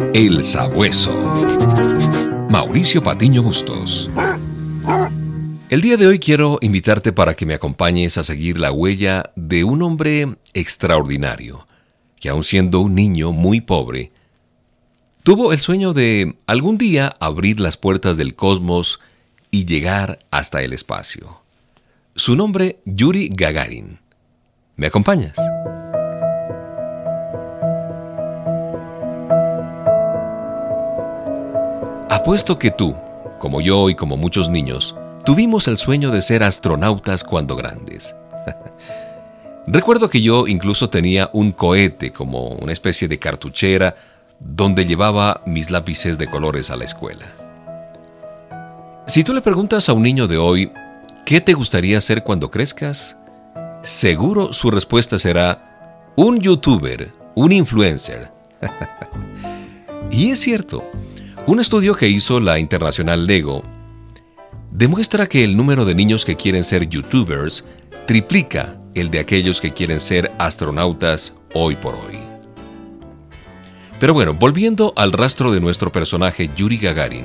El Sabueso. Mauricio Patiño Bustos. El día de hoy quiero invitarte para que me acompañes a seguir la huella de un hombre extraordinario, que aun siendo un niño muy pobre, tuvo el sueño de algún día abrir las puertas del cosmos y llegar hasta el espacio. Su nombre, Yuri Gagarin. ¿Me acompañas? Apuesto que tú, como yo y como muchos niños, tuvimos el sueño de ser astronautas cuando grandes. Recuerdo que yo incluso tenía un cohete como una especie de cartuchera donde llevaba mis lápices de colores a la escuela. Si tú le preguntas a un niño de hoy, ¿qué te gustaría hacer cuando crezcas? Seguro su respuesta será, un youtuber, un influencer. Y es cierto. Un estudio que hizo la internacional Lego demuestra que el número de niños que quieren ser youtubers triplica el de aquellos que quieren ser astronautas hoy por hoy. Pero bueno, volviendo al rastro de nuestro personaje Yuri Gagarin,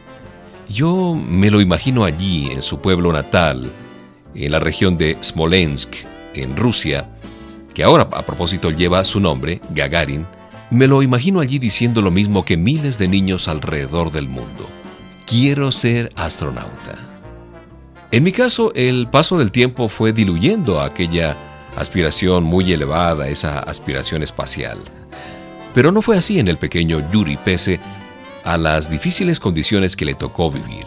yo me lo imagino allí en su pueblo natal, en la región de Smolensk, en Rusia, que ahora a propósito lleva su nombre, Gagarin. Me lo imagino allí diciendo lo mismo que miles de niños alrededor del mundo. Quiero ser astronauta. En mi caso, el paso del tiempo fue diluyendo aquella aspiración muy elevada, esa aspiración espacial. Pero no fue así en el pequeño Yuri, pese a las difíciles condiciones que le tocó vivir.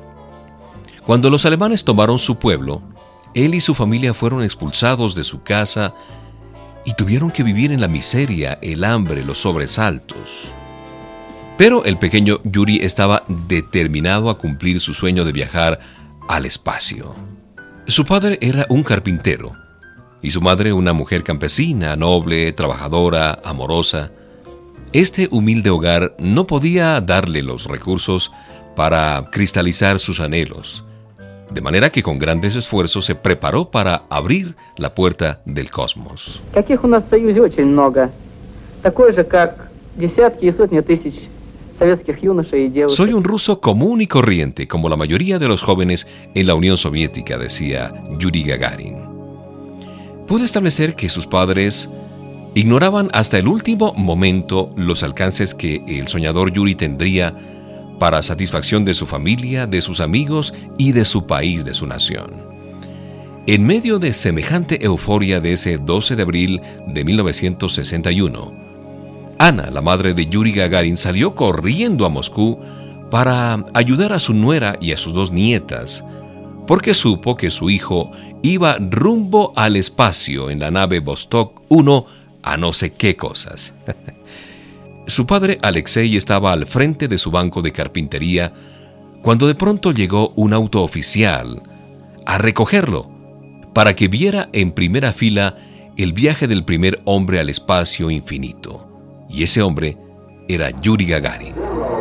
Cuando los alemanes tomaron su pueblo, él y su familia fueron expulsados de su casa y tuvieron que vivir en la miseria, el hambre, los sobresaltos. Pero el pequeño Yuri estaba determinado a cumplir su sueño de viajar al espacio. Su padre era un carpintero y su madre una mujer campesina, noble, trabajadora, amorosa. Este humilde hogar no podía darle los recursos para cristalizar sus anhelos, de manera que con grandes esfuerzos se preparó para abrir la puerta del cosmos. Таких у нас в Союзе очень много. Такое же, как десятки и сотни тысяч советских юношей и девушек. Soy un ruso común y corriente, como la mayoría de los jóvenes en la Unión Soviética, decía Yuri Gagarin. Pude establecer que sus padres ignoraban hasta el último momento los alcances que el soñador Yuri tendría para satisfacción de su familia, de sus amigos y de su país, de su nación. En medio de semejante euforia de ese 12 de abril de 1961, Ana, la madre de Yuri Gagarin, salió corriendo a Moscú para ayudar a su nuera y a sus dos nietas, porque supo que su hijo iba rumbo al espacio en la nave Vostok 1 a no sé qué cosas. Su padre, Alexei, estaba al frente de su banco de carpintería cuando de pronto llegó un auto oficial a recogerlo para que viera en primera fila el viaje del primer hombre al espacio infinito. Y ese hombre era Yuri Gagarin.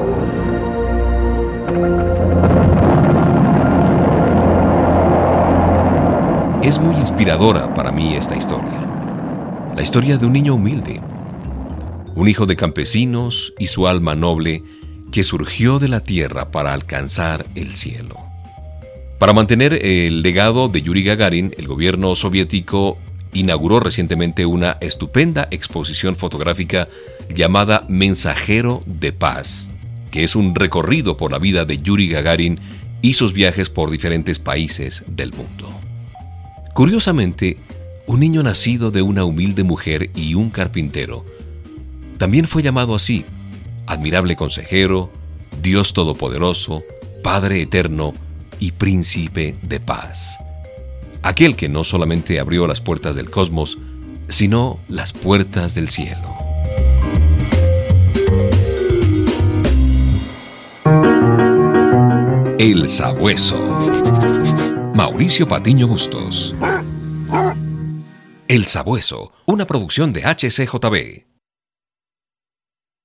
Es muy inspiradora para mí esta historia. La historia de un niño humilde, un hijo de campesinos y su alma noble que surgió de la tierra para alcanzar el cielo. Para mantener el legado de Yuri Gagarin, el gobierno soviético inauguró recientemente una estupenda exposición fotográfica llamada Mensajero de Paz, que es un recorrido por la vida de Yuri Gagarin y sus viajes por diferentes países del mundo. Curiosamente, un niño nacido de una humilde mujer y un carpintero también fue llamado así: admirable consejero, Dios todopoderoso, Padre eterno y príncipe de paz. Aquel que no solamente abrió las puertas del cosmos, sino las puertas del cielo. El Sabueso. Mauricio Patiño Bustos. El Sabueso, una producción de HCJB.